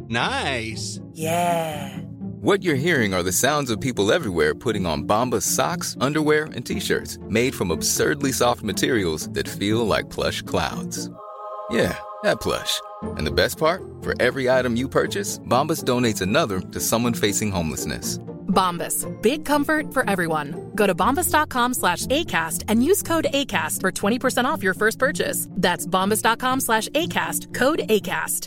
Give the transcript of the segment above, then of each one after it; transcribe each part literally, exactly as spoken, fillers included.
Nice. Yeah. What you're hearing are the sounds of people everywhere putting on Bombas socks, underwear, and T-shirts made from absurdly soft materials that feel like plush clouds. Yeah, that plush. And the best part? For every item you purchase, Bombas donates another to someone facing homelessness. Bombas. Big comfort for everyone. Go to bombas.com slash ACAST and use code ACAST for twenty percent off your first purchase. That's bombas.com slash ACAST. Code ACAST.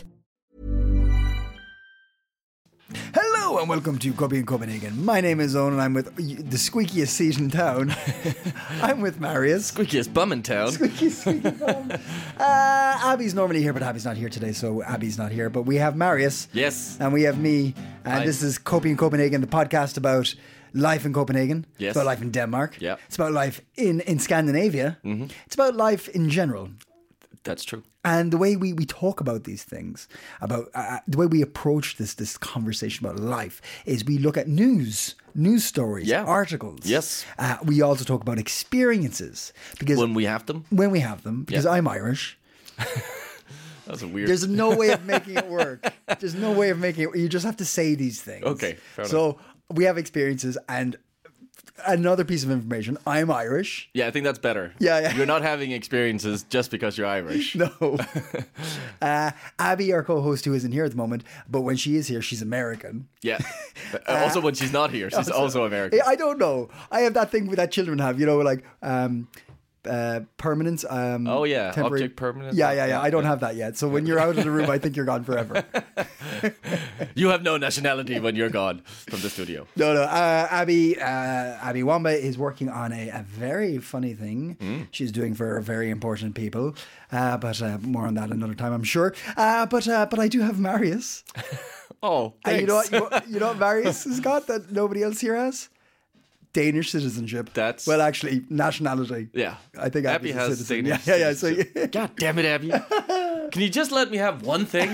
Hello and welcome to Copy in Copenhagen. My name is Owen and I'm with the squeakiest seat in town. I'm with Marius. Squeakiest bum in town. Squeakiest squeaky bum. Uh, Abby's normally here, but Abby's not here today, so Abby's not here. But we have Marius. Yes. And we have me. And Hi. this is Copy in Copenhagen, the podcast about life in Copenhagen. Yes. It's about life in Denmark. Yeah. It's about life in, in Scandinavia. Mm-hmm. It's about life in general. That's true. And the way we, we talk about these things, about uh, the way we approach this this conversation about life, is we look at news, news stories, Yeah. articles. Yes. Uh, we also talk about experiences because When we have them. when we have them, because Yeah. I'm Irish. That's a weird. There's no way of making it work. There's no way of making it. You just have to say these things. Okay, fair so we have experiences, and another piece of information: I'm Irish. Yeah, I think that's better. Yeah, yeah. You're not having experiences just because you're Irish. No. uh, Abby, our co-host, who isn't here at the moment, but when she is here, she's American. Yeah. But also, when she's not here, she's also American. I don't know. I have that thing that children have, you know, like um, uh, permanence. Um, Oh, yeah. temporary- Object permanence. Yeah, yeah, yeah. I don't Yeah. have that yet. So when you're out of the room, I think you're gone forever. You have no nationality when you're gone from the studio. No, no. Uh, Abby, uh, Abby Wamba is working on a, a very funny thing she's doing for very important people. Uh, but uh, more on that another time, I'm sure. Uh, but uh, but I do have Marius. Oh, And thanks. you know what? You, know- you know what Marius has got that nobody else here has? Danish citizenship. That's- well, actually, nationality. Yeah. I think Abby Abby's a has citizen. Danish Yeah, yeah, yeah. So, citizenship. God damn it, Abby. Can you just let me have one thing?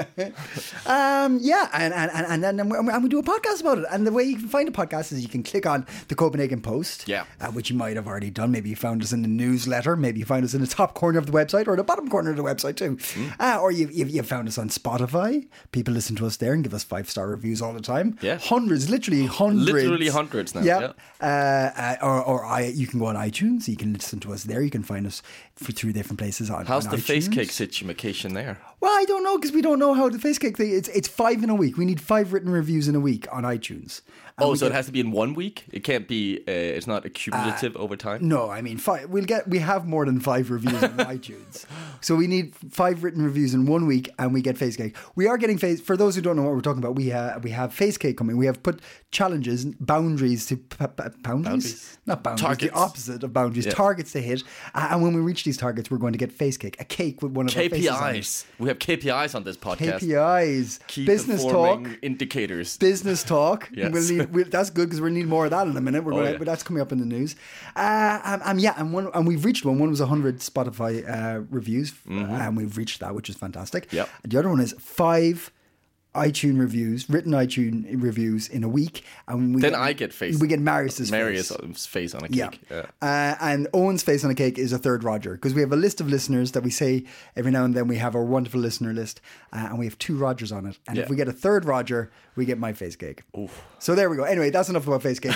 um, yeah, and and and and, then, and, we, and we do a podcast about it. And the way you can find a podcast is you can click on the Copenhagen Post, Yeah. uh, which you might have already done. Maybe you found us in the newsletter. Maybe you found us in the top corner of the website or the bottom corner of the website too. Mm. Uh, or you you you found us on Spotify. People listen to us there and give us five star reviews all the time. Yeah. hundreds, literally hundreds, Literally hundreds now, Yeah, yeah. Uh, uh, or or I, you can go on iTunes. You can listen to us there. You can find us for, through different places on. How's on the face iTunes. cake situation there? Well, I don't know because we don't know how the face cake thing. It's it's five in a week. We need five written reviews in a week on iTunes. And Oh, we so get- it has to be in one week? It can't be, uh, it's not accumulative over time? No, I mean five. We'll get. We have more than five reviews on iTunes, so we need five written reviews in one week, and we get face cake. We are getting face. For those who don't know what we're talking about, we uh, we have face cake coming. We have put challenges, boundaries to p- p- boundaries, Boundaries. not boundaries. Targets. The opposite of boundaries. Yeah. Targets to hit, uh, and when we reach these targets, we're going to get face cake, a cake with one of our K P faces on it. Is. We have K P Is on this podcast. K P Is, Key business talk. performing indicators. Business talk. Yes. We'll need, we'll, that's good because we'll need more of that in a minute. We're Oh, going, yeah. but that's coming up in the news. Uh, um, um, yeah, and one, and we've reached one. One was one hundred Spotify uh, reviews, uh, and we've reached that, which is fantastic. Yep. The other one is five iTunes reviews, written iTunes reviews in a week, and we Then I get face. We get Marius's Marius' face. face on a Yeah. cake. Yeah. Uh, and Owen's face on a cake is a third Roger because we have a list of listeners that we say every now and then we have our wonderful listener list, uh, and we have two Rogers on it. And Yeah. if we get a third Roger, we get my face cake. So there we go. Anyway, that's enough about face cake.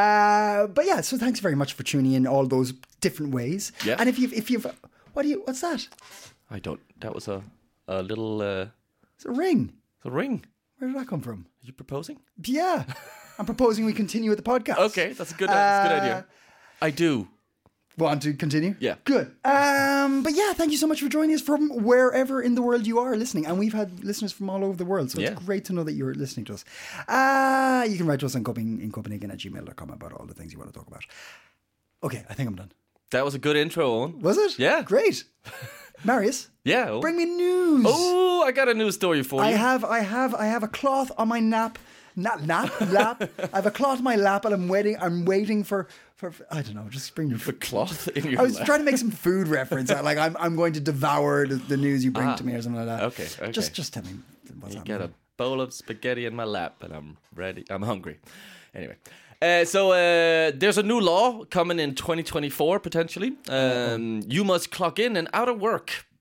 uh, but yeah, so thanks very much for tuning in all those different ways. Yeah. And if you've, if you've, what do you, what's that? I don't, that was a, a little, uh, It's a ring. a ring. Where did that come from? Are you proposing? Yeah. I'm proposing we continue with the podcast. Okay, that's a good, that's a good Uh, idea. I do. Want to continue? Yeah. Good. Um, but yeah, thank you so much for joining us from wherever in the world you are listening. And we've had listeners from all over the world. So Yeah. it's great to know that you're listening to us. Uh, you can write to us on Coping in Copenhagen at gmail dot com about all the things you want to talk about. Okay, I think I'm done. That was a good intro, Owen. Was it? Yeah. Great. Marius, Yeah. Owen. bring me news. Oh, I got a news story for I you. have, I have, I have a cloth on my nap. Not nap, lap. I have a cloth on my lap, and I'm waiting. I'm waiting for, for. I don't know. Just bring your The cloth in your I was lap. trying to make some food reference. Like I'm, I'm going to devour the, the news you bring Ah, to me or something like that. okay, okay. Just, just tell me what's You happening. got a bowl of spaghetti in my lap, and I'm ready. I'm hungry. Anyway, uh, so uh, there's a new law coming in twenty twenty-four potentially. Um, you must clock in and out of work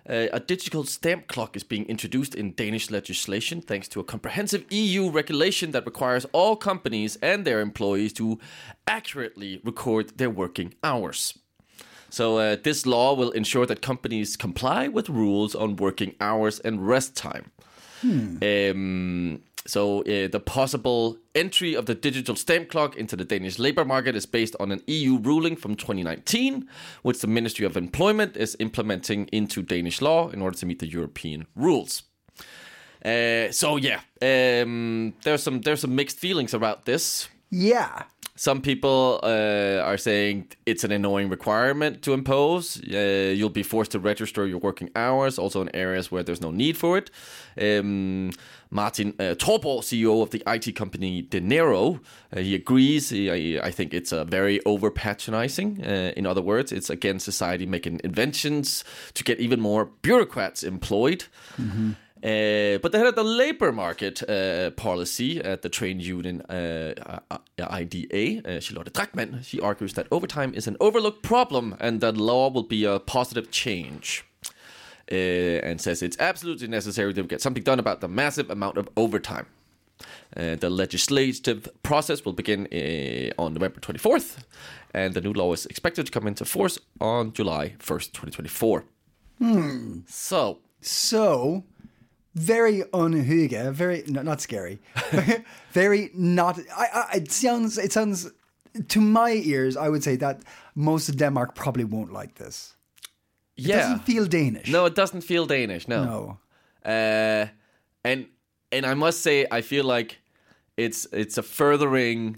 Uh, a digital stamp clock is being introduced in Danish legislation thanks to a comprehensive E U regulation that requires all companies and their employees to accurately record their working hours. So uh, this law will ensure that companies comply with rules on working hours and rest time. Hmm. Um, so uh, the possible entry of the digital stamp clock into the Danish labor market is based on an E U ruling from twenty nineteen, which the Ministry of Employment is implementing into Danish law in order to meet the European rules. Uh, so yeah, um, there's some there's some mixed feelings about this. Yeah. Some people uh, are saying it's an annoying requirement to impose. Uh, you'll be forced to register your working hours, also in areas where there's no need for it. Um, Martin uh, Torborg, C E O of the I T company Denero, uh, he agrees. He, I, I think it's a very over-patronizing. Uh, in other words, it's against society making inventions to get even more bureaucrats employed. Mm-hmm. Uh, but the head of the labor market uh, policy at the trade union uh, I D A, uh, Charlotte Drachmann, she argues that overtime is an overlooked problem and that law will be a positive change. Uh, and says it's absolutely necessary to get something done about the massive amount of overtime. Uh, the legislative process will begin uh, on November twenty-fourth, and the new law is expected to come into force on July first, twenty twenty-four. Hmm. So... So... Very unhygge, very no, not scary, very not. I, I, it sounds. It sounds to my ears. I would say that most of Denmark probably won't like this. It yeah, doesn't feel Danish. No, it doesn't feel Danish. No, no. Uh, and and I must say, I feel like it's it's a furthering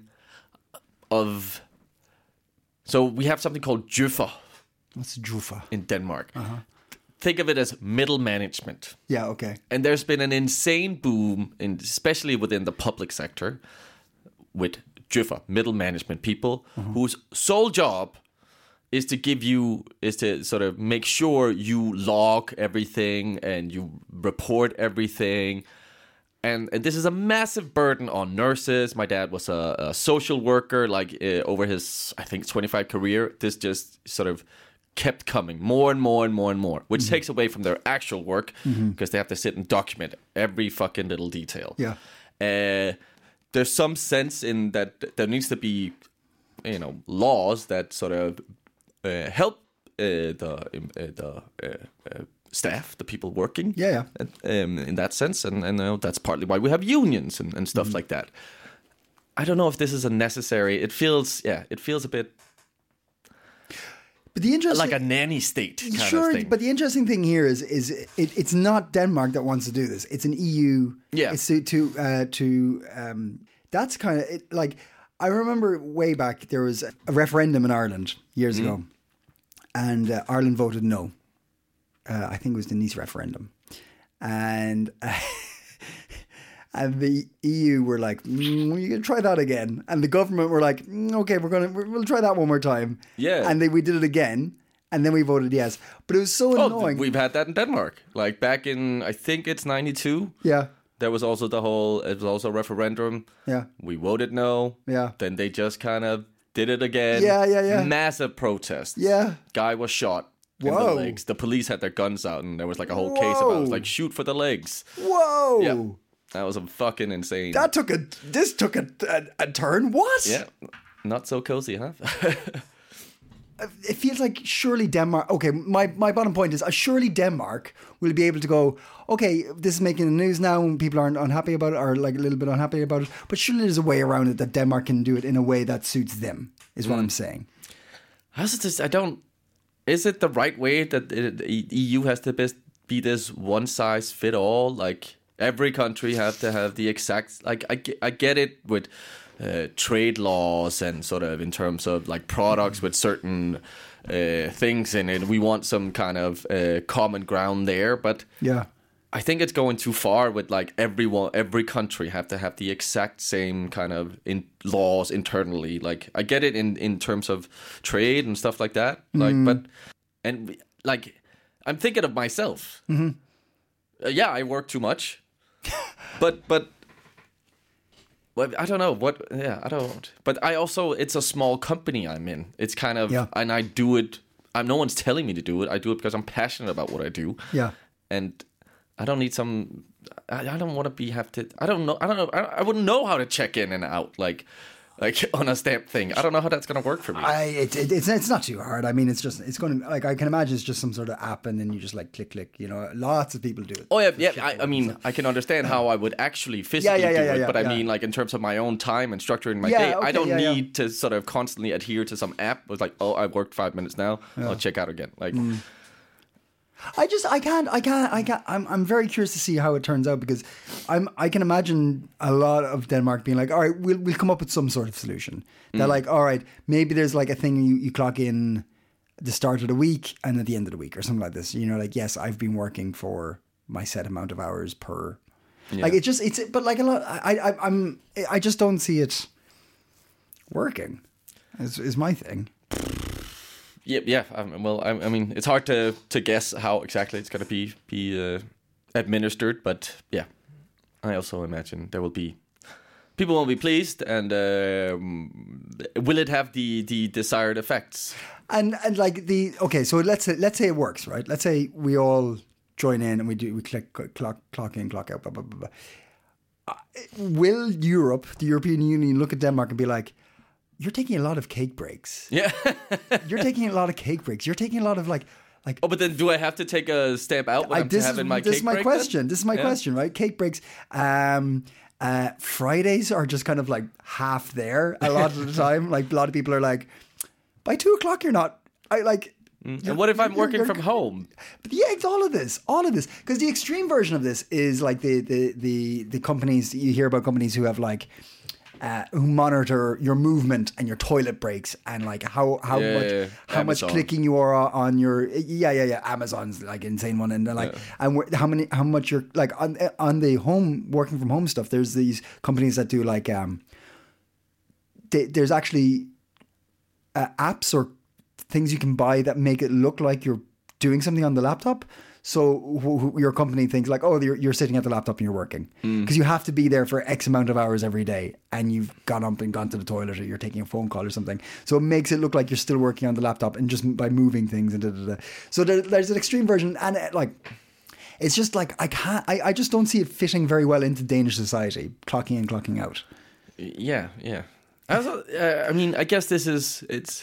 of. So we have something called Djøffer. What's Djøffer in Denmark? Uh-huh. Think of it as middle management. Yeah, okay. And there's been an insane boom, in, especially within the public sector, with Djøffer, middle management people, uh-huh. whose sole job is to give you, is to sort of make sure you log everything and you report everything. And, and this is a massive burden on nurses. My dad was a, a social worker, like uh, over his, I think, twenty-five career. This just sort of kept coming more and more and more and more, which mm-hmm. takes away from their actual work because mm-hmm. they have to sit and document every fucking little detail. Yeah. Uh, there's some sense in that there needs to be, you know, laws that sort of uh, help uh, the uh, the uh, uh, staff, the people working. Yeah, yeah. Um, in that sense, and and you know, that's partly why we have unions and, and stuff mm-hmm. like that. I don't know if this is a necessary. It feels, yeah, it feels a bit. But the interesting, like a nanny state kind sure, of thing. But the interesting thing here is, is it, it's not Denmark that wants to do this. It's an E U. Yeah. It's to to, uh, to um, that's kind of it, like I remember way back there was a referendum in Ireland years mm. ago, and uh, Ireland voted no. Uh, I think it was the Nice referendum, and. Uh, And the E U were like, mm, "You can try that again." And the government were like, mm, "Okay, we're gonna we'll try that one more time." Yeah. And then we did it again, and then we voted yes. But it was so oh, annoying. We've had that in Denmark. Like back in, I think it's ninety-two. Yeah. There was also the whole. It was also a referendum. Yeah. We voted no. Yeah. Then they just kind of did it again. Yeah, yeah, yeah. Massive protests. Yeah. Guy was shot. In Whoa. the legs. The police had their guns out, and there was like a whole Whoa. case about it. It was like shoot for the legs. Whoa. Yeah. That was a fucking insane. That took a. This took a a, a turn. What? Yeah. Not so cozy, huh? It feels like surely Denmark. Okay, my, my bottom point is uh, surely Denmark will be able to go. Okay, this is making the news now, and people aren't unhappy about it, or like a little bit unhappy about it. But surely there's a way around it that Denmark can do it in a way that suits them. Is what mm. I'm saying. How's it this? I don't. Is it the right way that the E U has to be this one size fit all? Like every country have to have the exact. Like I get, I get it with. Uh, trade laws and sort of in terms of like products with certain uh, things in it. We want some kind of uh, common ground there, but yeah, I think it's going too far with like everyone, every country have to have the exact same kind of in laws internally. Like I get it in, in terms of trade and stuff like that. Like, mm. but and like I'm thinking of myself. Mm-hmm. Uh, yeah, I work too much, but but. Well, I don't know what. Yeah, I don't. But I also, it's a small company I'm in. It's kind of, yeah. and I do it. I'm no one's telling me to do it. I do it because I'm passionate about what I do. Yeah. And I don't need some. I, I don't want to be have to. I don't know. I don't know. I, I wouldn't know how to check in and out like, like on a stamp thing. I don't know how that's gonna work for me. I it, it, it's it's not too hard. I mean, it's just it's going to like I can imagine it's just some sort of app, and then you just like click click. You know, lots of people do it. Oh yeah, yeah. I, I mean, I can understand how I would actually physically yeah, yeah, do yeah, it, yeah, but I yeah. mean, like in terms of my own time and structuring my Yeah, day, okay, I don't yeah, yeah. need to sort of constantly adhere to some app. It was like, oh, I've worked five minutes now. I'll check out again. Like. Mm. I just I can't I can't I can't I'm I'm very curious to see how it turns out, because I'm I can imagine a lot of Denmark being like, all right, we'll we'll come up with some sort of solution. They're Mm. like, all right, maybe there's like a thing you, you clock in at the start of the week and at the end of the week or something like this. You know, like, yes, I've been working for my set amount of hours per. Yeah. Like it just it's but like a lot I I I'm I just don't see it working. Is is my thing. Yeah, yeah. Um, well, I, I mean, it's hard to, to guess how exactly it's going to be be uh, administered, but yeah, I also imagine there will be people won't be pleased, and um, will it have the, the desired effects? And and like the okay, so let's say let's say it works, right? Let's say we all join in and we do we click clock clock in, clock out, blah blah blah. blah. Uh, will Europe, the European Union, look at Denmark and be like, you're taking a lot of cake breaks. Yeah. You're taking a lot of cake breaks. You're taking a lot of like, like. Oh, but then do I have to take a stamp out when I, I'm this having is, my this cake is my break question. then? This is my Yeah. question, right? Cake breaks. Um, uh, Fridays are just kind of like half there a lot of the time. Like a lot of people are like, by two o'clock you're not. I like. Mm. And what if I'm you're- working you're- from home? But yeah, it's all of this, all of this, because the extreme version of this is like the the the the companies you hear about, companies who have like. Uh, who monitor your movement and your toilet breaks and like how how Yeah, much yeah, yeah. how Amazon. much clicking you are on your yeah yeah yeah Amazon's like insane one, and they're like and wh- how many how much you're like on on the home working from home stuff. There's these companies that do like um they, there's actually uh, apps or things you can buy that make it look like you're doing something on the laptop. So wh- wh- your company thinks like, oh, you're, you're sitting at the laptop and you're working, because you have to be there for X amount of hours every day, and you've gone up and gone to the toilet, or you're taking a phone call or something. So it makes it look like you're still working on the laptop, and just by moving things and da da da. So there, there's an extreme version, and it, like it's just like I can't, I, I just don't see it fitting very well into Danish society, clocking in, clocking out. Yeah, yeah. Also, uh, I mean, I guess this is it's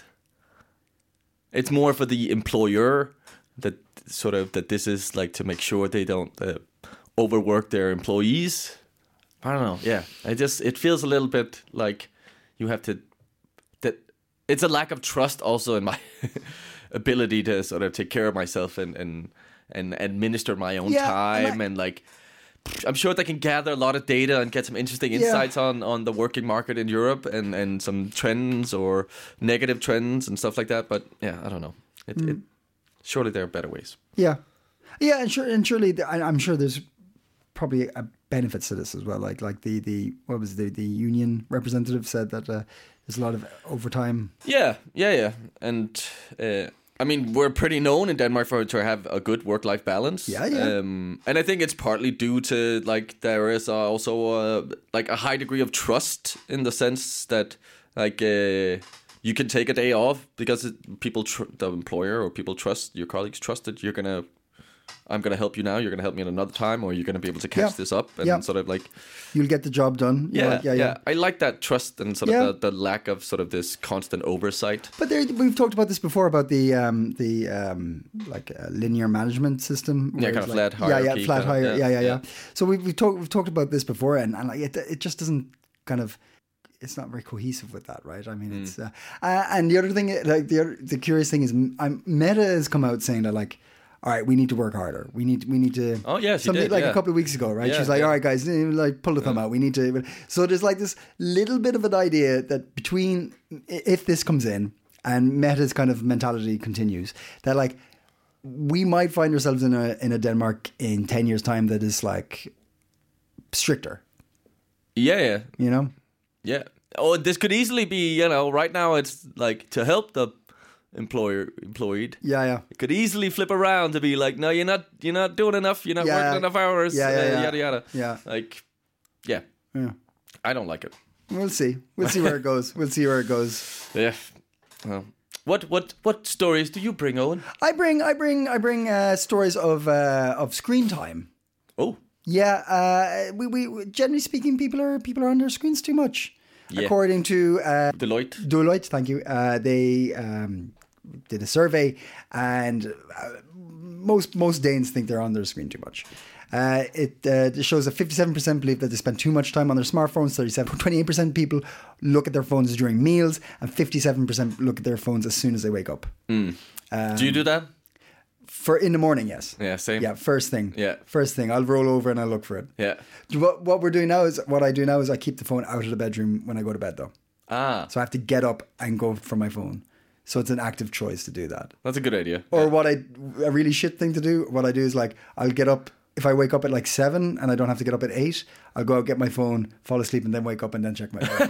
it's more for the employer that sort of that this is like to make sure they don't uh, overwork their employees. I don't know. Yeah, I just it feels a little bit like you have to that it's a lack of trust also in my ability to sort of take care of myself and and and administer my own Yeah, time and I- and like. I'm sure they can gather a lot of data and get some interesting insights on, on the working market in Europe and, and some trends or negative trends and stuff like that. But yeah, I don't know. It, Mm. it, surely there are better ways. Yeah, yeah, and sure, and surely, the, I, I'm sure there's probably a benefits to this as well. Like, like the, the what was the the union representative said that uh, there's a lot of overtime. Yeah, yeah, yeah. And uh, I mean, we're pretty known in Denmark for to have a good work-life balance. Yeah, yeah. Um, and I think it's partly due to like there is also uh, like a high degree of trust in the sense that like. Uh, You can take a day off because it, people, tr- the employer or people trust your colleagues trust that you're gonna, I'm gonna help you now. You're gonna help me at another time, or you're gonna be able to catch Yeah. this up and Yeah. sort of like, You'll get the job done. You're yeah, like, yeah, yeah, I like that trust and sort Yeah. of the, the lack of sort of this constant oversight. But there, we've talked about this before about the um, the um, like uh, linear management system. where Yeah, kind it's of like, flat Yeah, yeah, hierarchy flat kind of, hierarchy. yeah, Yeah, yeah, yeah, yeah. So we've we've talked we've talked about this before, and, and like it, it just doesn't kind of. It's not very cohesive with that, right? I mean, Mm. it's uh, uh, and the other thing, like the other, the curious thing is, I'm, Meta has come out saying that like, all right, we need to work harder. We need we need to. Oh, yeah, she something did, like yeah. a couple of weeks ago, right? Yeah, She's like, yeah. all right, guys, like pull the thumb out. We need to. So there's like this little bit of an idea that between if this comes in and Meta's kind of mentality continues, that like we might find ourselves in a in a Denmark in ten years' time that is like stricter. Yeah, yeah, You know. yeah. Oh, this could easily be, you know, right now it's like to help the employer employed. Yeah, yeah. It could easily flip around to be like, no, you're not, you're not doing enough. You're not Yeah. working enough hours. Yeah, yeah, uh, yeah. Yada yada. Yeah. Like, yeah. Yeah. I don't like it. We'll see. We'll see where it goes. We'll see where it goes. Yeah. Well, What what what stories do you bring, Owen? I bring, I bring, I bring uh, stories of uh, of screen time. Oh, Yeah, uh, we, we generally speaking, people are people are on their screens too much, Yeah. according to uh, Deloitte. Deloitte. Thank you. Uh, they um, did a survey, and uh, most most Danes think they're on their screen too much. Uh, it, uh, it shows that fifty-seven percent believe that they spend too much time on their smartphones. thirty-seven, twenty-eight percent people look at their phones during meals, and fifty-seven percent look at their phones as soon as they wake up. Mm. Um, do you do that? For in the morning, yes. Yeah, same. Yeah, first thing. Yeah. First thing. I'll roll over and I'll look for it. Yeah. What, what we're doing now is, what I do now is I keep the phone out of the bedroom when I go to bed, though. Ah. So I have to get up and go for my phone. So it's an active choice to do that. That's a good idea. Or yeah. what I, a really shit thing to do, what I do is like, I'll get up, if I wake up at like seven and I don't have to get up at eight, I'll go out, get my phone, fall asleep, and then wake up and then check my phone.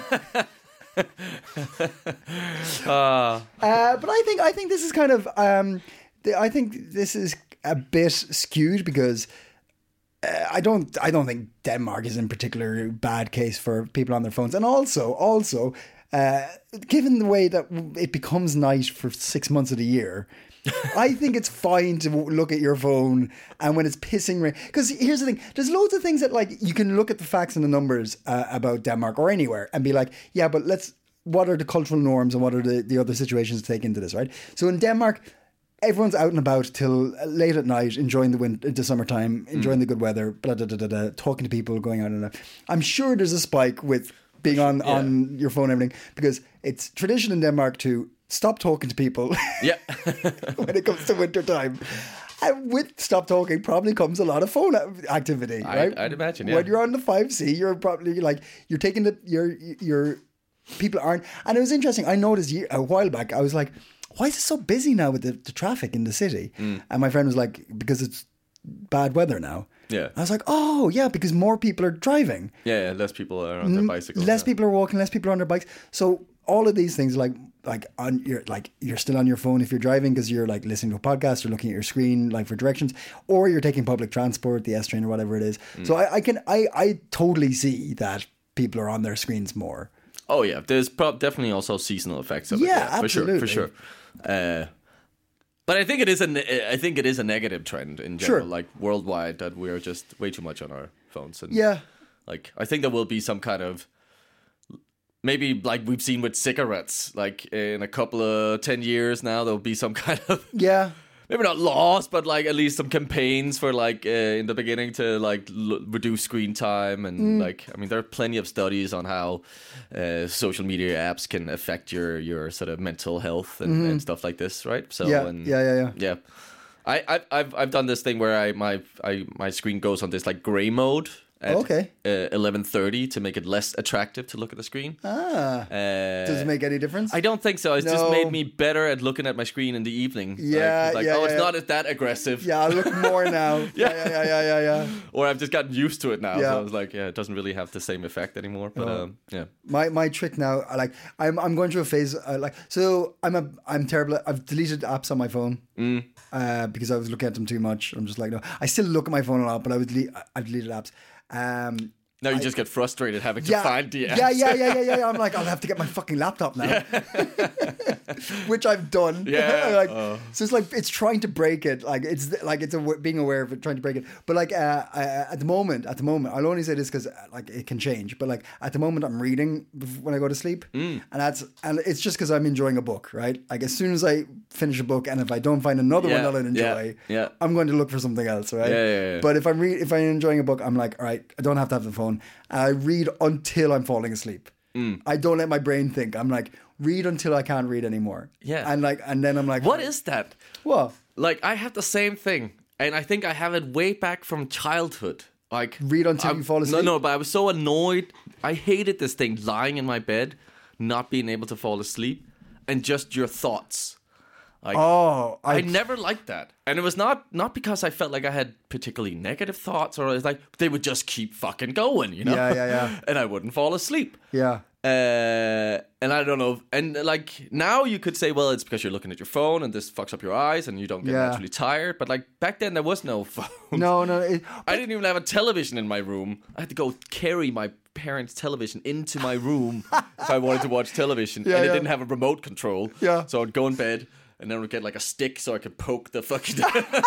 uh. uh, but I think, I think this is kind of, um, I think this is a bit skewed because uh, I don't I don't think Denmark is in particular bad case for people on their phones. And also, also, uh, given the way that it becomes night for six months of the year, I think it's fine to look at your phone and when it's pissing rain. Because here's the thing, there's loads of things that like you can look at the facts and the numbers uh, about Denmark or anywhere and be like, yeah, but let's, what are the cultural norms and what are the, the other situations to take into this, right? So in Denmark, everyone's out and about till late at night, enjoying the winter, the summertime, enjoying mm. the good weather, blah, blah, blah, blah, blah, talking to people, going out and out. I'm sure there's a spike with being on, yeah. on your phone and everything, because it's tradition in Denmark to stop talking to people yeah. when it comes to winter time. And with stop talking probably comes a lot of phone activity, right? I'd, I'd imagine, yeah. When you're on the five C, you're probably like, you're taking the, you're, you're, people aren't, and it was interesting, I noticed a while back, I was like, why is it so busy now with the, the traffic in the city? Mm. And my friend was like, because it's bad weather now. Yeah. I was like, oh, yeah, because more people are driving. Yeah, yeah less people are on their bicycles. Less yeah. people are walking, less people are on their bikes. So all of these things, like, like on your, like you're still on your phone if you're driving because you're like listening to a podcast or looking at your screen, like for directions, or you're taking public transport, the S train or whatever it is. Mm. So I, I can, I, I totally see that people are on their screens more. Oh yeah, there's pro- definitely also seasonal effects of yeah, it. Yeah, absolutely. for sure, for sure. Uh, but I think it is a, ne- I think it is a negative trend in general, sure. like worldwide, that we're just way too much on our phones. And yeah, like I think there will be some kind of, maybe like we've seen with cigarettes, like in a couple of ten years now, there'll be some kind of yeah. Maybe not laws, but like at least some campaigns for like uh, in the beginning to like l- reduce screen time and mm. like I mean there are plenty of studies on how uh, social media apps can affect your your sort of mental health and, mm-hmm. and stuff like this, right? So yeah, and, yeah, yeah, yeah. Yeah, I I've, I've I've done this thing where I my I my screen goes on this like gray mode. At okay. uh, eleven thirty to make it less attractive to look at the screen. Ah. Uh, Does it make any difference? I don't think so. It's no. just made me better at looking at my screen in the evening. Yeah, like, like yeah, oh, yeah. it's not as that aggressive. Yeah, I look more now. yeah. yeah, yeah, yeah, yeah, yeah. Or I've just gotten used to it now. Yeah. So I was like, yeah, it doesn't really have the same effect anymore. But no. um, yeah. My my trick now, I like I'm I'm going through a phase uh, like so I'm a I'm terrible. At, I've deleted apps on my phone mm. uh, because I was looking at them too much. I'm just like no. I still look at my phone a lot, but I would delete. I've deleted apps. Um, Now you I, just get frustrated having to yeah, find the apps. Yeah, yeah, yeah, yeah, yeah. I'm like, I'll have to get my fucking laptop now, which I've done. Yeah. like, uh. So it's like it's trying to break it. Like it's like it's a, being aware of it, trying to break it. But like uh, uh, at the moment, at the moment, I'll only say this because like it can change. But like at the moment, I'm reading when I go to sleep, mm. and that's and it's just because I'm enjoying a book, right? Like as soon as I finish a book, and if I don't find another yeah, one that I enjoy, yeah, yeah. I'm going to look for something else, right? Yeah, yeah, yeah. But if I'm re- if I'm enjoying a book, I'm like, all right, I don't have to have the phone. And I read until I'm falling asleep. Mm. I don't let my brain think. I'm like, read until I can't read anymore. Yeah. And like, and then I'm like, what is that? What? Like, I have the same thing. And I think I have it way back from childhood. Like read until I'm, you fall asleep? No, no, but I was so annoyed. I hated this thing, lying in my bed, not being able to fall asleep, and just your thoughts. Like, Oh, I, I, never liked that, and it was not not because I felt like I had particularly negative thoughts, or it's like they would just keep fucking going, you know? Yeah, yeah, yeah. And I wouldn't fall asleep. yeah. Uh, and I don't know, and like now you could say, well, it's because you're looking at your phone and this fucks up your eyes and you don't get Yeah. naturally tired. But like back then, there was no phone. No, no. It, I didn't even have a television in my room. I had to go carry my parents' television into my room if I wanted to watch television, Yeah, and it yeah. didn't have a remote control. Yeah. So I'd go in bed. And then we'd get like a stick so I could poke the fucking.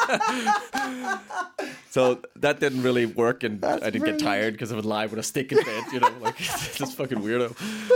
So that didn't really work, and That's I didn't brilliant. get tired because I would lie with a stick in bed, you know, like this fucking weirdo.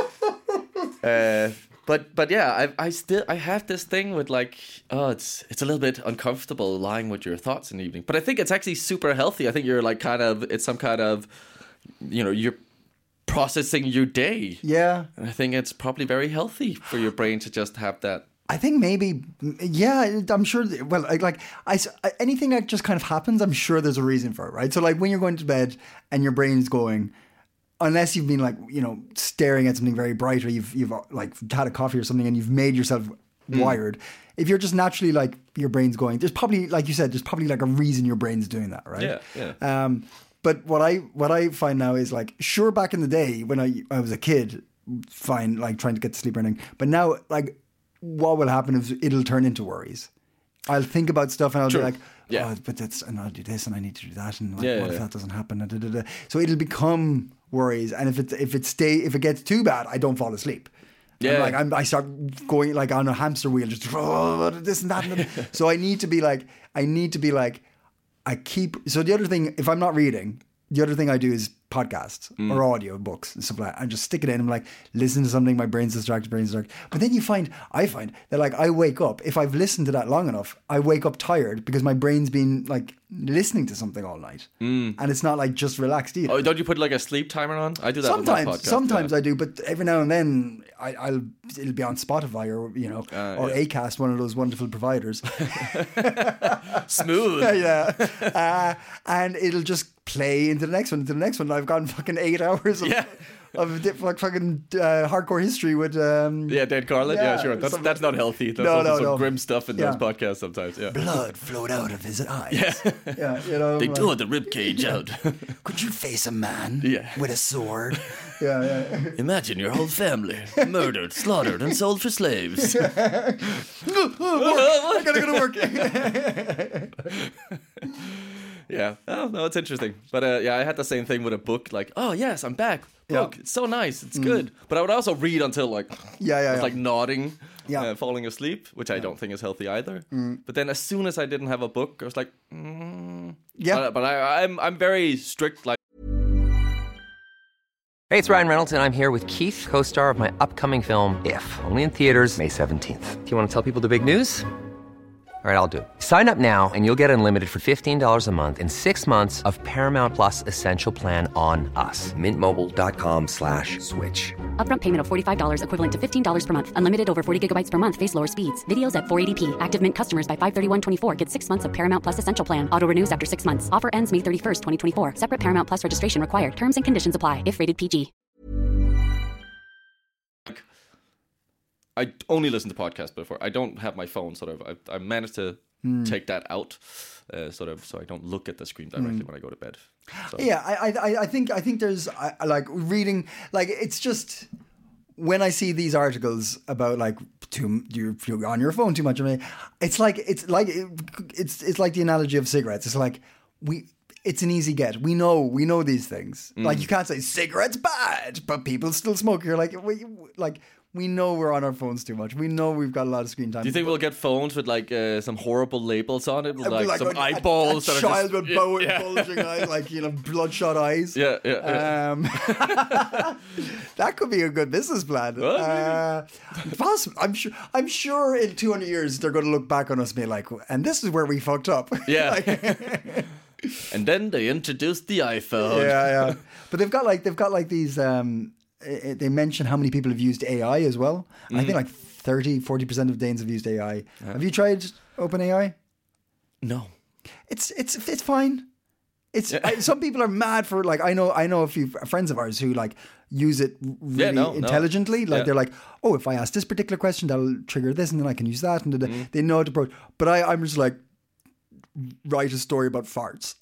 Uh, but but yeah, I I still I have this thing with like, oh, it's it's a little bit uncomfortable lying with your thoughts in the evening, but I think it's actually super healthy. I think you're like kind of it's some kind of, you know, you're processing your day. yeah. And I think it's probably very healthy for your brain to just have that. I think maybe, yeah, I'm sure. Well, like, like I, anything that just kind of happens, I'm sure there's a reason for it, right? So, like, when you're going to bed and your brain's going, unless you've been like, you know, staring at something very bright, or you've you've like had a coffee or something, and you've made yourself wired. If you're just naturally like your brain's going, there's probably, like you said, there's probably like a reason your brain's doing that, right? Yeah, yeah. Um, but what I what I find now is like, sure, back in the day when I I was a kid, fine, like trying to get to sleep or anything. But now, like, what will happen is it'll turn into worries. I'll think about stuff and I'll True. be like, Yeah. oh, but that's, and I'll do this and I need to do that, and like, Yeah, what yeah, if yeah. that doesn't happen? And da, da, da. So it'll become worries, and if it if it stay if it gets too bad, I don't fall asleep. Yeah. I'm like I'm, I start going like on a hamster wheel, just oh, this and that. And that. So I need to be like, I need to be like, I keep. So the other thing, if I'm not reading, the other thing I do is podcasts Mm. or audio books and stuff like that. I just stick it in. I'm like, listen to something. My brain's distracted. Brain's distracted. But then you find, I find that like I wake up, if I've listened to that long enough, I wake up tired because my brain's been like listening to something all night, Mm. and it's not like just relaxed either. Oh, don't you put like a sleep timer on? I do that with my Sometimes, podcast. sometimes yeah. I do, but every now and then I, I'll it'll be on Spotify or you know Uh, or yeah. Acast, one of those wonderful providers. Smooth. yeah, uh, and it'll just play into the next one, into the next one. I've gone fucking eight hours of, Yeah. of di- like fucking uh, hardcore history with um, Yeah, Dan Carlin. Yeah, Yeah, sure. That's some- that's not healthy. There's No, also no, some no. grim stuff in Yeah. those podcasts sometimes. Yeah. blood flowed out of his eyes. Yeah, yeah, you know, They like, tore the rib cage out. could you face a man Yeah. with a sword? yeah, yeah. Imagine your whole family murdered, slaughtered, and sold for slaves. I gotta go to work. Yeah. Oh no, it's interesting. But uh, yeah, I had the same thing with a book. Like, oh yes, I'm back. Book. Yeah. It's so nice. It's good. But I would also read until like Yeah, yeah, I was yeah. like nodding, Yeah. uh, falling asleep, which I don't think is healthy either. But then as soon as I didn't have a book, I was like, mm. Yeah. But, but I, I'm I'm very strict. Like, Hey, it's Ryan Reynolds, and I'm here with Keith, co-star of my upcoming film, If, only in theaters May seventeenth. Do you want to tell people the big news? All right, I'll do it. Sign up now and you'll get unlimited for fifteen dollars a month and six months of Paramount Plus Essential Plan on us. Mint Mobile dot com slash switch. Upfront payment of forty-five dollars equivalent to fifteen dollars per month. Unlimited over forty gigabytes per month. Face lower speeds. Videos at four eighty p. Active Mint customers by five thirty-one twenty-four get six months of Paramount Plus Essential Plan. Auto renews after six months. Offer ends May thirty-first, twenty twenty-four. Separate Paramount Plus registration required. Terms and conditions apply if rated P G. I only listen to podcasts before. I don't have my phone. Sort of. I, I managed to take that out, uh, sort of, so I don't look at the screen directly when I go to bed. So. Yeah, I, I, I think, I think there's I, I like reading. Like, it's just when I see these articles about like too you're, you're on your phone too much. I mean, it's like it's like it's it's like the analogy of cigarettes. It's like we. It's an easy get. We know, we know these things. Like, you can't say cigarettes bad, but people still smoke. You're like, we, like, we know we're on our phones too much. We know we've got a lot of screen time. Do you think we'll get phones with like uh, some horrible labels on it, with, Like, like, some a, eyeballs a, a that child are just with yeah, bow- yeah. bulging eyes, like, you know, bloodshot eyes. Yeah, yeah, yeah. Um, that could be a good business plan. Well, uh, possible. I'm sure. I'm sure in two hundred years they're going to look back on us and be like, "And this is where we fucked up." Yeah. Like, And then they introduced the iPhone. yeah, yeah. But they've got like they've got like these. Um, eh, they mention how many people have used A I as well. Mm-hmm. I think like thirty, forty percent of Danes have used A I. Have you tried OpenAI? No. It's it's it's fine. It's I, some people are mad for like I know I know a few friends of ours who like use it really Yeah, no, no. intelligently. Like Yeah. they're like, oh, if I ask this particular question, that'll trigger this, and then I can use that, and da- da. Mm-hmm. they know how to approach. But I, I'm just like, write a story about farts.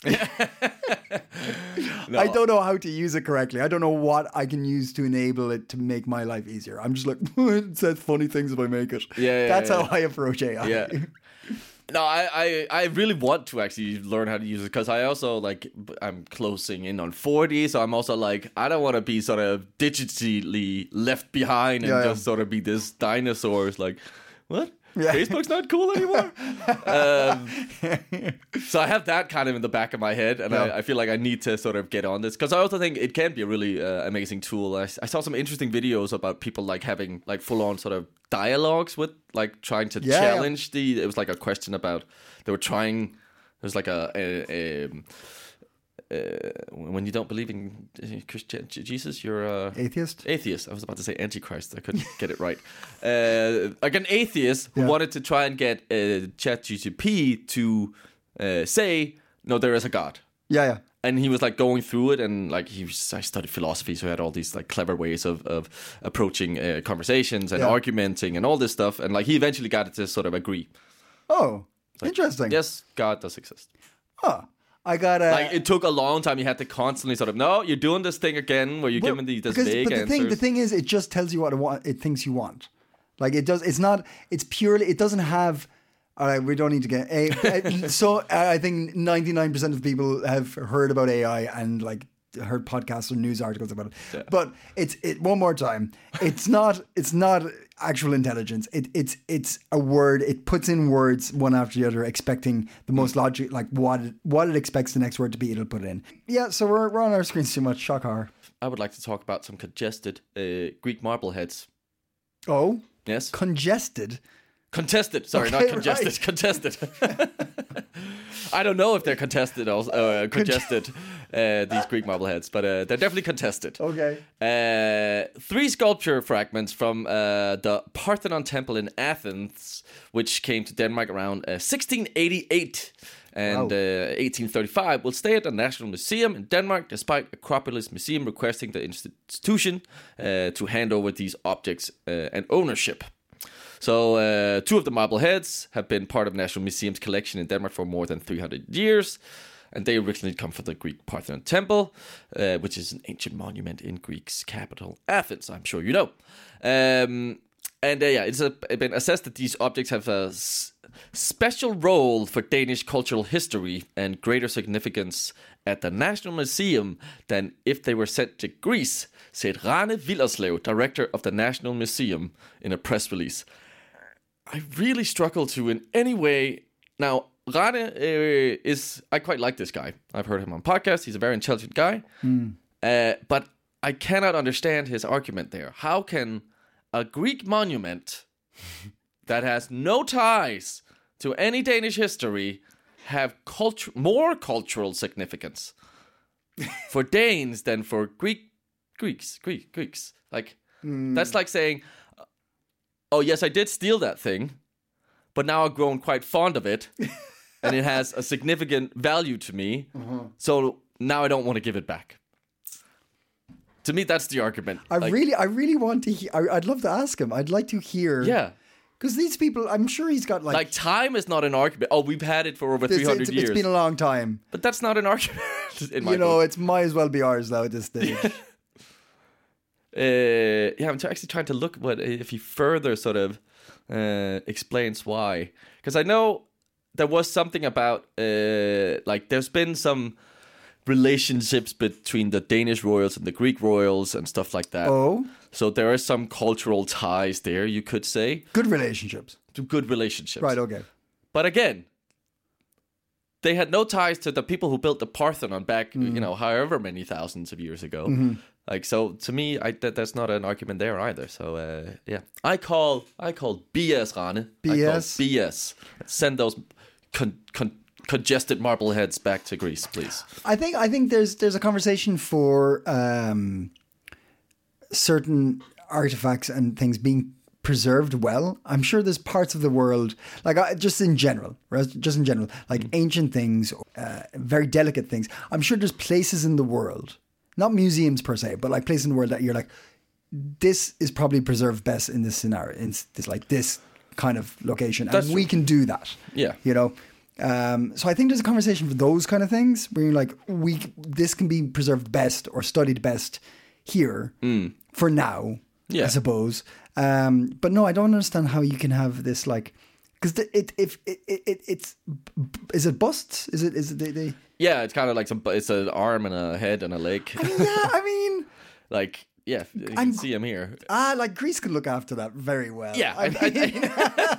I don't know how to use it correctly. I don't know what I can use to enable it to make my life easier. I'm just like, it says funny things if I make it. Yeah, yeah, That's yeah, how yeah. I approach A I. Yeah. No, I, I, I really want to actually learn how to use it because I also like I'm closing in on forty, so I'm also like I don't want to be sort of digitally left behind and Yeah, yeah. just sort of be this dinosaur. It's like, what? Yeah. Facebook's not cool anymore. um, so I have that kind of in the back of my head, and Yeah. I, I feel like I need to sort of get on this because I also think it can be a really uh, amazing tool. I, I saw some interesting videos about people like having like full on sort of dialogues with like trying to Yeah, yeah. challenge the. It was like a question about they were trying. It was like a. a, a uh, when you don't believe in Christian Jesus, you're a Atheist? Atheist. I was about to say Antichrist. I couldn't get it right. Uh, like an atheist who Yeah. wanted to try and get uh, ChatGPT to uh, say, "No, there is a God." Yeah, yeah. And he was like going through it, and like he was, I studied philosophy, so he had all these like clever ways of of approaching uh, conversations and Yeah. argumenting and all this stuff. And like he eventually got it to sort of agree. Oh, interesting. Yes, God does exist. Huh. I got a. Like it took a long time. You had to constantly sort of, no, you're doing this thing again where you're Well, giving these this because- vague but the answers. thing, the thing is, it just tells you what it, want, it thinks you want. Like it does. It's not. It's purely. It doesn't have. All right, we don't need to get. A, a- so I think ninety-nine percent of people have heard about A I and like heard podcasts or news articles about it. Yeah. But it's it one more time. It's not. It's not actual intelligence. It, it's it's a word. It puts in words one after the other, expecting the most logic, like what it, what it expects the next word to be. It'll put it in. Yeah. So we're we're on our screens too much. Shock horror. I would like to talk about some congested uh, Greek marbleheads. Oh, Yes, congested. contested. Sorry, Okay, not congested. right. Contested. I don't know if they're contested or uh, congested. Uh, these Greek marbleheads, but uh, they're definitely contested. Okay. Uh, three sculpture fragments from uh, the Parthenon Temple in Athens, which came to Denmark around uh, sixteen eighty-eight and Wow. uh, eighteen thirty-five, will stay at the National Museum in Denmark, despite Acropolis Museum requesting the institution uh, to hand over these objects uh, and ownership. So, uh, two of the marble heads have been part of National Museum's collection in Denmark for more than three hundred years. And they originally come from the Greek Parthenon Temple, uh, which is an ancient monument in Greece's capital, Athens, I'm sure you know. Um, and uh, yeah, it's a, been assessed that these objects have a s- special role for Danish cultural history and greater significance at the National Museum than if they were sent to Greece, said Rane Villerslev, director of the National Museum, in a press release. I really struggle to in any way. Now, Rane uh, is, I quite like this guy. I've heard him on podcasts. He's a very intelligent guy. Mm. Uh, but I cannot understand his argument there. How can a Greek monument that has no ties to any Danish history have cultu- more cultural significance for Danes than for Greek Greeks? Greek Greeks. Like Mm. that's like saying, "Oh yes, I did steal that thing, but now I've grown quite fond of it, and it has a significant value to me. So now I don't want to give it back." To me, that's the argument. I Like, really, I really want to. He- I, I'd love to ask him. I'd like to hear. yeah. Because these people, I'm sure he's got like. Like time is not an argument. Oh, we've had it for over it's, three hundred it's, years. it's been a long time. But that's not an argument. in my You know, book. it's might as well be ours now at this stage. Uh, yeah, I'm t- actually trying to look what if he further sort of uh, explains why. Because I know there was something about uh, like there's been some relationships between the Danish royals and the Greek royals and stuff like that. Oh, So there are some cultural ties there, you could say, good relationships. to good relationships. Right. Okay. But again, they had no ties to the people who built the Parthenon back, Mm. you know, however many thousands of years ago. Mm-hmm. Like, so to me, I, that, that's not an argument there either. So, uh, yeah, I call I call B S, Rane. B I call S? B S. Send those con, con, congested marble heads back to Greece, please. I think I think there's there's a conversation for um, certain artifacts and things being preserved well. I'm sure there's parts of the world, like I, just in general, right? just in general, like ancient things, uh, very delicate things. I'm sure there's places in the world, not museums per se, but like places in the world that you're like, this is probably preserved best in this scenario, in this like this kind of location, and That's we true. can do that. Yeah. You know. Um, so I think there's a conversation for those kind of things where you're like, we this can be preserved best or studied best here for now, Yeah. I suppose. Um, but no, I don't understand how you can have this like, because it if it, it, it it's is it busts? Is it is it they, they Yeah, it's kind of like some. It's an arm and a head and a leg. yeah, I mean. Like, yeah, you can I'm- see him here. Ah, like Greece can look after that very well. Yeah, I I- I- mean,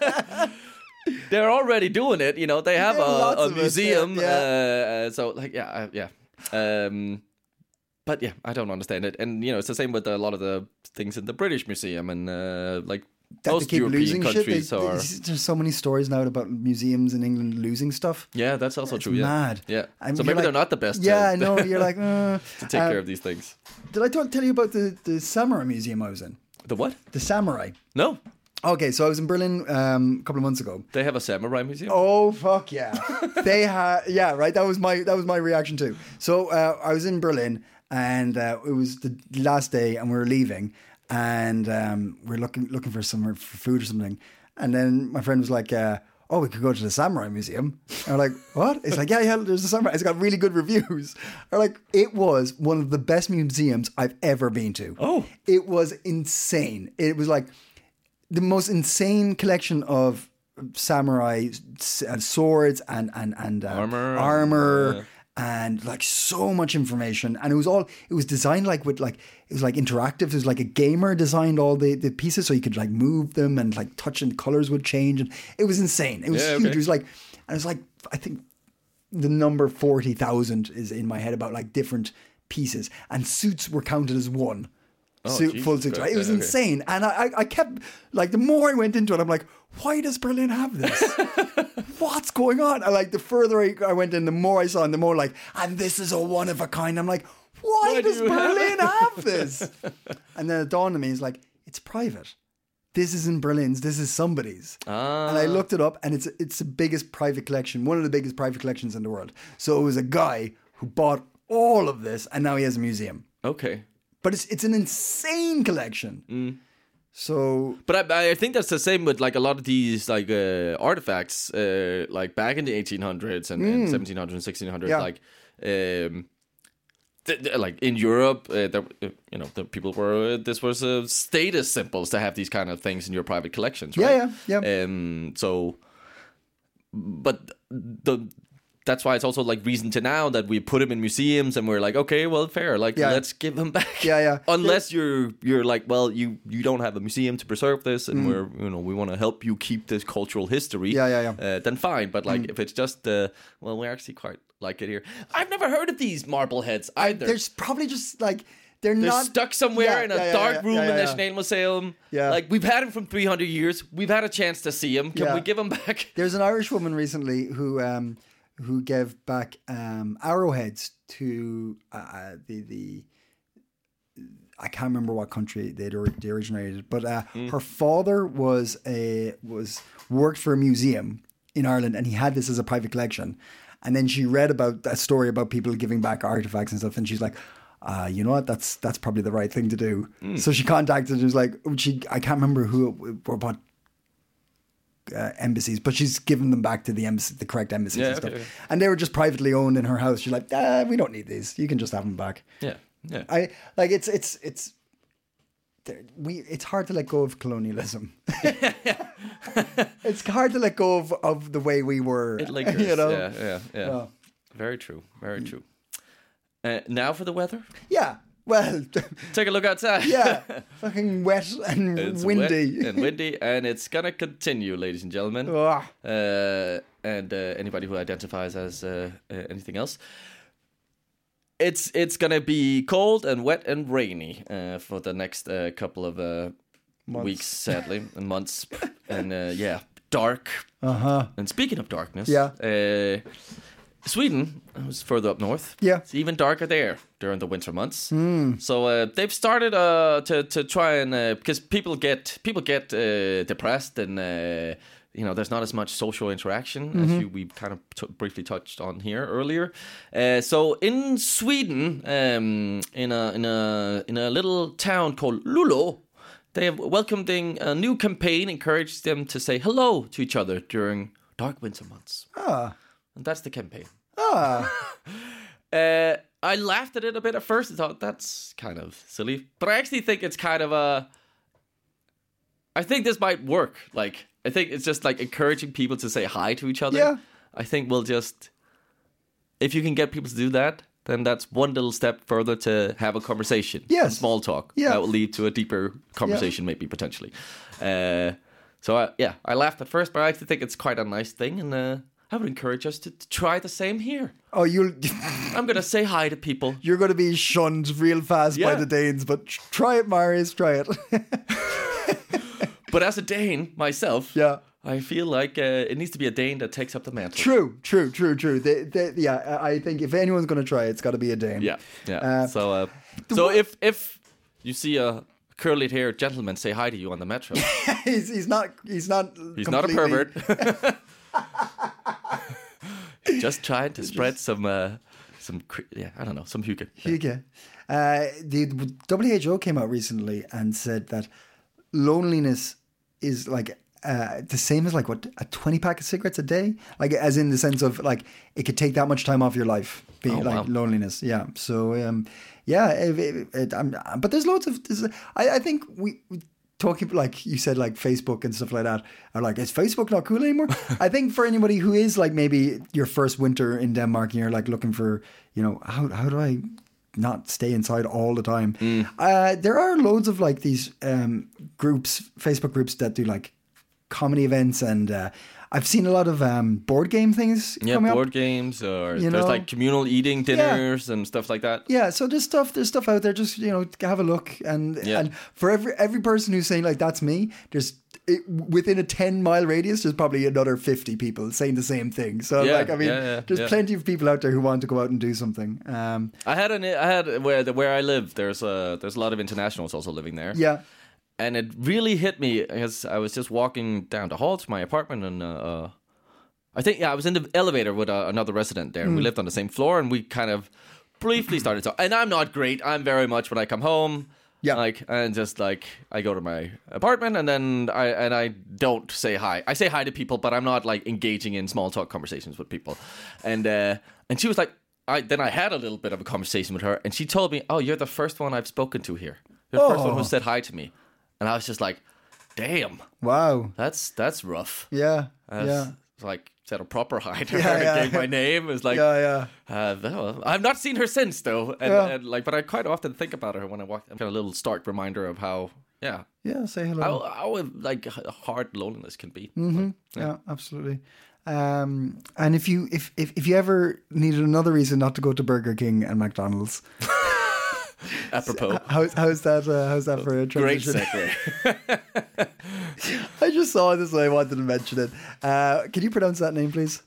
They're already doing it. You know, they have Yeah, a, lots a of it, museum. yeah, Uh, uh, so, like, yeah, I- yeah. Um, but yeah, I don't understand it. And you know, it's the same with a lot of the things in the British Museum and uh, like that they most keep European losing shit. They, countries they, are. there's so many stories now about museums in England losing stuff. Yeah, that's also It's true. Yeah, mad. Yeah. And so you're maybe like- they're not the best. Yeah, to, I know. You're like, uh, to take um, care of these things. Did I t- tell you about the, the samurai museum I was in? The what? The samurai. No, Okay, so I was in Berlin um, a couple of months ago. they have a samurai museum. Oh fuck yeah! They had yeah right. That was my that was my reaction too. So uh, I was in Berlin, and uh, it was the last day, and we were leaving, and um, we we're looking looking for somewhere for food or something, and then my friend was like, uh, "Oh, we could go to the Samurai Museum." And we're like, "What?" It's like, "Yeah, yeah, there's a samurai. It's got really good reviews." Or like, it was one of the best museums I've ever been to. Oh. It was insane. It was like the most insane collection of samurai s- uh, swords and and and uh, Armor. armor, Yeah. and like so much information. And it was all it was designed like with like it was like interactive. It was like a gamer designed all the, the pieces so you could like move them and like touch and the colors would change. And it was insane. It was Yeah, huge. okay. It was like and it was like I think the number forty thousand is in my head about like different pieces, and suits were counted as one. Suit, Jesus full suit. Christ. Right? It was Yeah, okay. insane. And I, I, I kept, like, the more I went into it, I'm like, why does Berlin have this? What's going on? And, like, the further I, I went in, the more I saw, and the more, like, and this is a one of a kind. I'm like, why, Why do does you have Berlin have, this? And then it dawned on me, it's like, it's private. This isn't Berlin's, this is somebody's. Ah. And I looked it up, and it's it's the biggest private collection, one of the biggest private collections in the world. So it was a guy who bought all of this, and now he has a museum. Okay. But it's it's an insane collection. So But I, I think that's the same with like a lot of these like uh, artifacts, uh, like back in the eighteen hundreds and, and seventeen hundreds and sixteen hundreds, Yeah. like um, th- th- like in Europe, uh, there, uh, you know, the people were uh, this was uh, status symbols to have these kind of things in your private collections, right? Yeah, yeah, yeah. Um, so, but the. That's why it's also like reason to now that we put them in museums and we're like, okay, well, fair, like Yeah. let's give them back. Yeah, yeah. Unless you're you're like, well, you you don't have a museum to preserve this, and we're you know we want to help you keep this cultural history. Mm. Yeah, yeah, yeah. Uh, then fine, but like if it's just, uh, well, we actually quite like it here. I've never heard of these marble heads either. there's probably just like they're, They're not stuck somewhere Yeah, in a yeah, yeah, dark yeah, room yeah, in yeah. Nationalmuseum. Yeah. Like we've had them from three hundred years. We've had a chance to see them. Can Yeah. we give them back? There's an Irish woman recently who um who gave back um arrowheads to uh, the the I can't remember what country they they originated, but uh, her father was a was worked for a museum in Ireland, and he had this as a private collection. And then she read about that story about people giving back artifacts and stuff, and she's like, uh, you know what? That's that's probably the right thing to do. So she contacted. It was like she I can't remember who or what uh, embassies, but she's given them back to the embassy, the correct embassies Yeah, and okay, stuff. okay. And they were just privately owned in her house. She's like, ah, we don't need these. You can just have them back. Yeah, yeah. I like it's it's it's there- we it's hard to let go of colonialism. It's hard to let go of, of the way we were. It lingers. You know? Yeah, yeah, yeah. Yeah. Very true. Very true. Uh, now for the weather. Yeah. Well, Take a look outside. yeah. Fucking wet and It's windy. wet and windy, and it's gonna continue, ladies and gentlemen. Ugh. Uh, and uh, anybody who identifies as uh, uh, anything else, it's it's gonna be cold and wet and rainy uh, for the next uh, couple of uh, weeks, sadly, and months, and uh, yeah, dark. Uh huh. And speaking of darkness, Yeah. uh, Sweden, who's further up north, Yeah. it's even darker there during the winter months. So uh, they've started uh, to to try and uh, because people get people get uh, depressed and uh, you know, there's not as much social interaction mm-hmm. as you, we kind of t- briefly touched on here earlier. Uh, so in Sweden, um, in a in a in a little town called Luleå, they have welcomed a new campaign, encouraged them to say hello to each other during dark winter months. Ah, and that's the campaign. Ah. uh, I laughed at it a bit at first. I thought that's kind of silly, but I actually think it's kind of a. I think this might work. Like, I think it's just like encouraging people to say hi to each other. Yeah. I think we'll just, if you can get people to do that, then that's one little step further to have a conversation. Yes. Small talk. Yeah. That will lead to a deeper conversation, yeah. maybe potentially. Uh, so I, yeah, I laughed at first, but I actually think it's quite a nice thing, and uh, I would encourage us to, to try the same here. Oh, you'll. I'm gonna say hi to people. You're gonna be shunned real fast Yeah. by the Danes, but try it, Marius. Try it. But as a Dane myself, Yeah. I feel like uh, it needs to be a Dane that takes up the mantle. True, true, true, true. They, they, yeah, I think if anyone's going to try it, it's got to be a Dane. Yeah, yeah. Uh, so, uh, so if if you see a curly-haired gentleman say hi to you on the metro, he's, he's not. He's not. he's not a pervert. Just trying to spread some, uh, some, yeah, I don't know, some hygge. Hygge. Uh, the W H O came out recently and said that loneliness is like uh, the same as like what a twenty pack of cigarettes a day, like as in the sense of like it could take that much time off your life, being Oh, like wow. loneliness. Yeah. So um, yeah, it, it, it, I'm, but there's loads of. There's, I, I think we. we talking like you said, like Facebook and stuff like that, are like, is Facebook not cool anymore? I think for anybody who is like maybe your first winter in Denmark and you're like looking for, you know, how how do I not stay inside all the time? Mm. Uh, there are loads of like these um, groups, Facebook groups that do like comedy events, and uh, I've seen a lot of um, board game things. Yeah, coming board up. games, or You there's know? like communal eating dinners yeah. and stuff like that. Yeah, so there's stuff, there's stuff out there. Just you know, have a look, and Yeah. and for every every person who's saying like that's me, there's it, within a ten mile radius, there's probably another fifty people saying the same thing. So Yeah, like, I mean, yeah, yeah, there's yeah. plenty of people out there who want to go out and do something. Um, I had an I had where the, where I live. There's a there's a lot of internationals also living there. yeah, And it really hit me as I was just walking down the hall to my apartment, and uh, I think yeah, I was in the elevator with uh, another resident there. And we lived on the same floor, and we kind of briefly started talking. And I'm not great. I'm very much when I come home, Yeah. like and just like I go to my apartment, and then I and I don't say hi. I say hi to people, but I'm not like engaging in small talk conversations with people. And uh, and she was like, I then I had a little bit of a conversation with her, and she told me, "Oh, you're the first one I've spoken to here. You're the first one who said hi to me." And I was just like, "Damn, wow, that's that's rough." yeah, I was, yeah, like said a proper hi to Yeah, her, yeah. gave my name. It was like, yeah, yeah. Uh, well, I've not seen her since though, and, Yeah. and like, but I quite often think about her when I walk. I'm kind of a little stark reminder of how, yeah, Yeah, say hello. how, how like hard loneliness can be. Mm-hmm. Yeah, absolutely. Um, and if you if, if if you ever needed another reason not to go to Burger King and McDonald's, Apropos, how's how's that? Uh, how's that for a great transition? segue. I just saw this and I wanted to mention it. Uh, can you pronounce that name, please?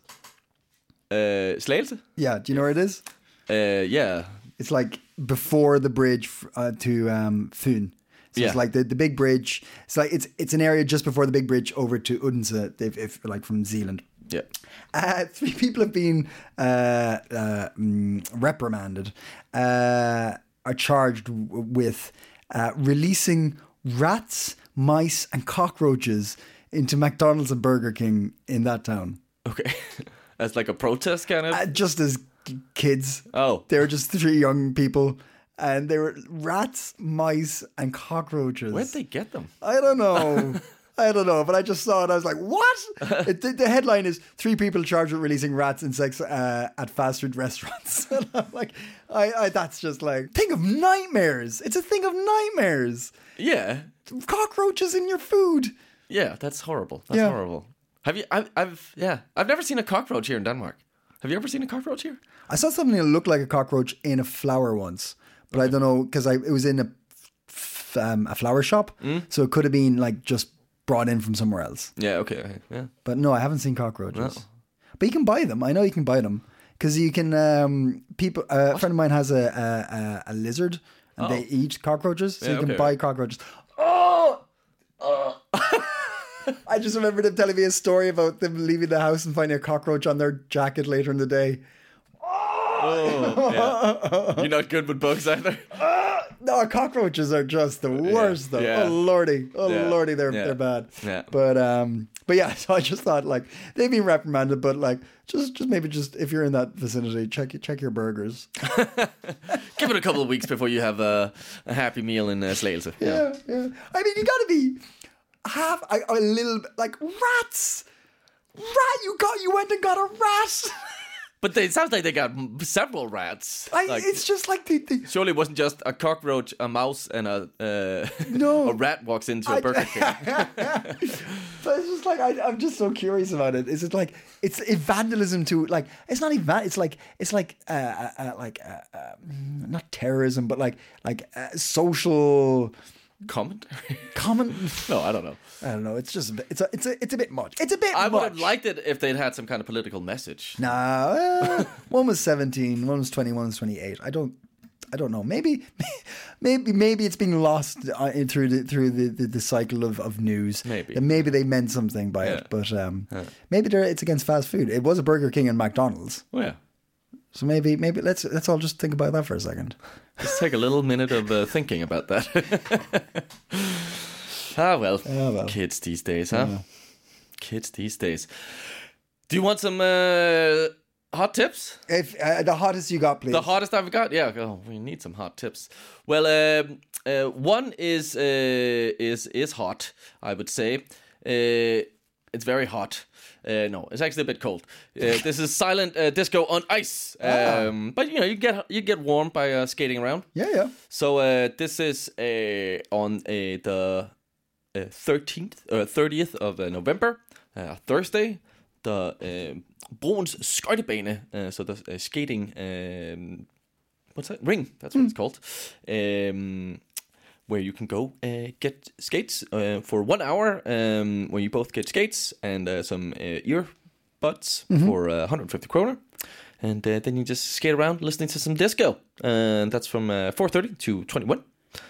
uh, Slagelse? Yeah. Do you know where it is? Uh, yeah, It's like before the bridge f- uh, to um, Fyn. So Yeah. it's like the, the big bridge. It's like it's it's an area just before the big bridge over to Odense, if, if like from Zealand. yeah. Uh, three people have been uh, uh, mm, reprimanded, uh, are charged w- with uh, releasing rats, mice, and cockroaches into McDonald's and Burger King in that town. Okay, as like a protest kind of. Uh, just as k- kids. Oh. They were just three young people. And they were rats, mice, and cockroaches. Where'd they get them? I don't know. I don't know, but I just saw it. I was like, "What?" it, the, the headline is three people charged with releasing rats insects uh, at fast food restaurants. And I'm like, I, I, that's just like thing of nightmares. It's a thing of nightmares. Yeah, Cockroaches in your food. yeah. That's horrible. That's Yeah. horrible. Have you? I've, I've, yeah. I've never seen a cockroach here in Denmark. Have you ever seen a cockroach here? I saw something that looked like a cockroach in a flower once, but I don't know because I it was in a f- um, a flower shop, so it could have been like just brought in from somewhere else. Yeah. Okay. okay, Yeah. But no, I haven't seen cockroaches. But you can buy them. I know you can buy them because you can. Um, people, uh, a friend of mine has a a, a, a lizard, and they eat cockroaches, so Yeah, you can okay. buy cockroaches. Oh, I just remember them telling me a story about them leaving the house and finding a cockroach on their jacket later in the day. Oh, yeah. You're not good with bugs either. No, cockroaches are just the worst, though. yeah. Oh lordy, oh Yeah. lordy, they're Yeah. they're bad. Yeah. But um, but yeah. So I just thought like they've been reprimanded, but like just just maybe just if you're in that vicinity, check check your burgers. Give it a couple of weeks before you have a, a happy meal in uh, Slagelse. Yeah, yeah. I mean, you got to be half a, a little bit like rats. Rat, you got you went and got a rat. But they, it sounds like they got m- several rats. I, Like, it's just like the, the surely it wasn't just a cockroach, a mouse, and a uh, No. a rat walks into a I- Burger King. So it's just like I, I'm just so curious about it. Is it like it's a vandalism to like it's not even it's like it's like uh, uh, uh like uh, uh, not terrorism but like like uh, social Comment? common. No, I don't know. I don't know. It's just a bit, it's a it's a it's a bit much. It's a bit. I much. would have liked it if they'd had some kind of political message. No, uh, one was seventeen, one was twenty, one was twenty-eight. I don't, I don't know. Maybe, maybe, maybe it's being lost uh, in, through the through the, the, the cycle of, of news. Maybe. And maybe they meant something by Yeah. it, but um, maybe they're, it's against fast food. It was a Burger King and McDonald's, Oh, yeah. so maybe maybe let's let's all just think about that for a second. Let's take a little minute of uh, thinking about that. ah, well. Ah, well. Kids these days, huh? Kids these days. Do you want some uh, hot tips? If uh, the hottest you got, please. The hottest I've got? Yeah, oh, we need some hot tips. Well, um, uh, one is uh, is is hot, I would say. Uh, it's very hot. Uh, no, it's actually a bit cold. Uh, this is silent uh, disco on ice. Um, but you know, you get you get warm by uh, skating around. Yeah, yeah. So uh, this is uh, on uh, the uh, thirteenth or thirtieth of uh, November, uh, Thursday. The uh, Broens skøjtebane, uh, so the uh, skating, um, what's that? Ring, that's what it's called. Um, where you can go uh, get skates uh, for one hour, um, where you both get skates and uh, some uh, earbuds for uh, one hundred fifty kroner. And uh, then you just skate around listening to some disco. And that's from uh, four thirty to twenty-one.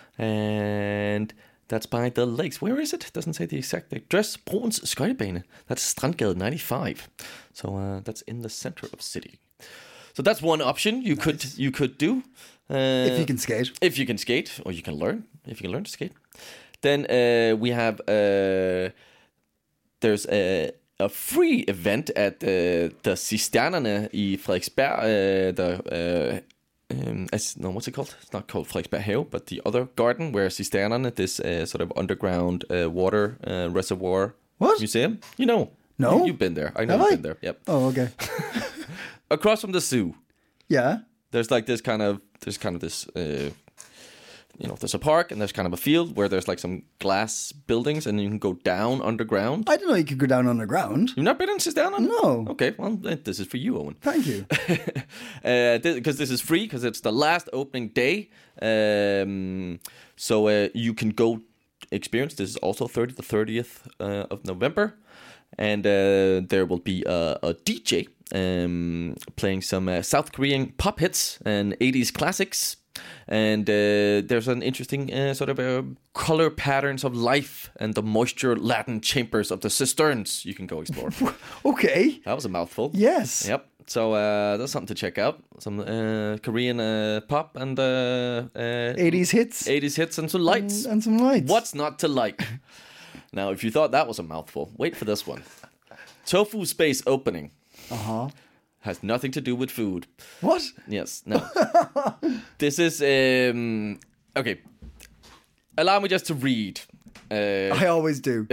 And that's by the lakes. Where is it? Doesn't say the exact address. Broens skøjtebane. That's Strandgade ninety-five. So uh, that's in the center of city. So that's one option you nice. could you could do. Uh, If you can skate. If you can skate, or you can learn. If you can learn to skate. Then uh, we have, uh, there's a, a free event at uh, the Cisternerne i Frederiksberg. Uh, the, uh, um, as, no, what's it called? It's not called Frederiksberg Have, but the other garden where Cisternerne, this uh, sort of underground uh, water uh, reservoir What? museum. You know. No. You, you've been there. I know Have you've I? been there. Yep. Oh, okay. Across from the zoo. Yeah. There's like this kind of there's kind of this uh, you know, there's a park and there's kind of a field where there's like some glass buildings and you can go down underground. I didn't know you could go down underground. You've not been in Cisternerne? No. Okay, well this is for you, Owen. Thank you. uh, because this is free because it's the last opening day. Um, so uh, you can go experience. This is also thirtieth to thirtieth uh, of November, and uh, there will be a, a D J um, playing some uh, South Korean pop hits and eighties classics. And uh, there's an interesting uh, sort of uh, color patterns of life and the moisture laden chambers of the cisterns you can go explore. Okay. That was a mouthful. Yes. Yep. So uh, that's something to check out. Some uh, Korean uh, pop and uh, uh, eighties hits. eighties hits and some lights. And, and some lights. What's not to like? Now, if you thought that was a mouthful, wait for this one. Tofu Space opening. Uh-huh. Has nothing to do with food. What? Yes, no. This is, um, okay. Allow me just to read. Uh, I always do.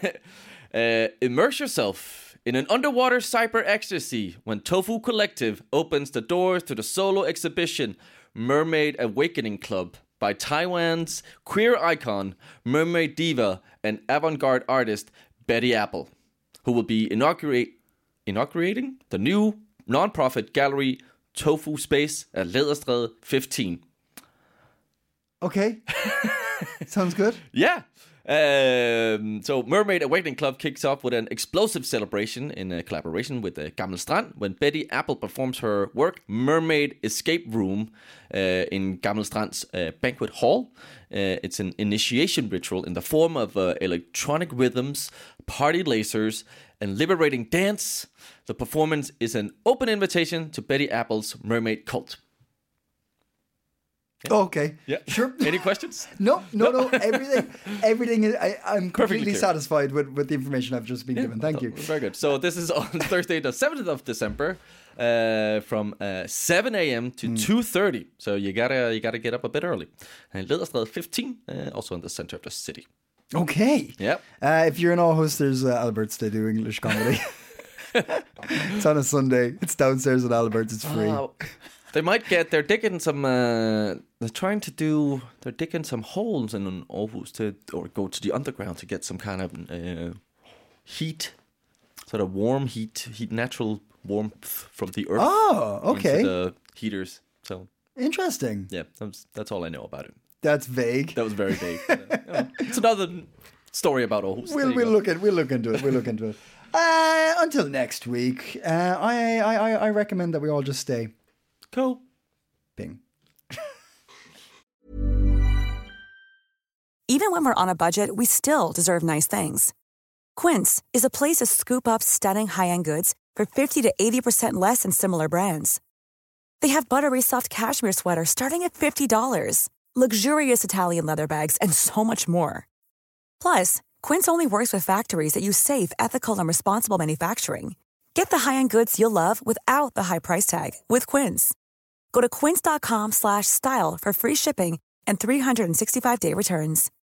uh, immerse yourself in an underwater cyber ecstasy when Tofu Collective opens the doors to the solo exhibition Mermaid Awakening Club by Taiwan's queer icon, mermaid diva, and avant-garde artist Betty Apple, who will be inaugurate, inaugurating the new non-profit gallery Tofu Space at Læderstræde fifteen. Okay. Sounds good. Yeah. Um, so Mermaid Awakening Club kicks off with an explosive celebration in a collaboration with uh, Gammel Strand when Betty Apple performs her work Mermaid Escape Room uh, in Gammel Strand's uh, banquet hall. Uh, it's an initiation ritual in the form of uh, electronic rhythms, party lasers, and liberating dance. The performance is an open invitation to Betty Apple's mermaid cult. Okay. Yeah. Sure. Any questions? No, no, no. Everything, everything. Is, I, I'm completely clear. satisfied with, with the information I've just been given. Thank you. Very good. So this is on Thursday, the seventh of December, uh, from uh, seven a.m. to mm. two thirty. So you gotta you gotta get up a bit early. And Lederstræde fifteen, uh, also in the center of the city. Okay. Yep. Uh, if you're in Aarhus, there's uh, Albert's. They do English comedy. It's on a Sunday. It's downstairs at Albert's. It's free. Oh. They might get, they're digging some, uh, they're trying to do, they're digging some holes in Aarhus to, or go to the underground to get some kind of uh, heat, sort of warm heat, heat, natural warmth from the earth. Oh, okay. Into the heaters. So interesting. Yeah, that's, that's all I know about it. That's vague. That was very vague. uh, yeah. It's another story about Aarhus. We'll, we'll look at, we'll look into it. We'll look into it. Uh, until next week, uh, I, I, I recommend that we all just stay. Cool. Bing. Even when we're on a budget, we still deserve nice things. Quince is a place to scoop up stunning high-end goods for fifty to eighty percent less than similar brands. They have buttery soft cashmere sweaters starting at fifty dollars, luxurious Italian leather bags, and so much more. Plus, Quince only works with factories that use safe, ethical, and responsible manufacturing. Get the high-end goods you'll love without the high price tag with Quince. Go to quince.com slash style for free shipping and three sixty-five day returns.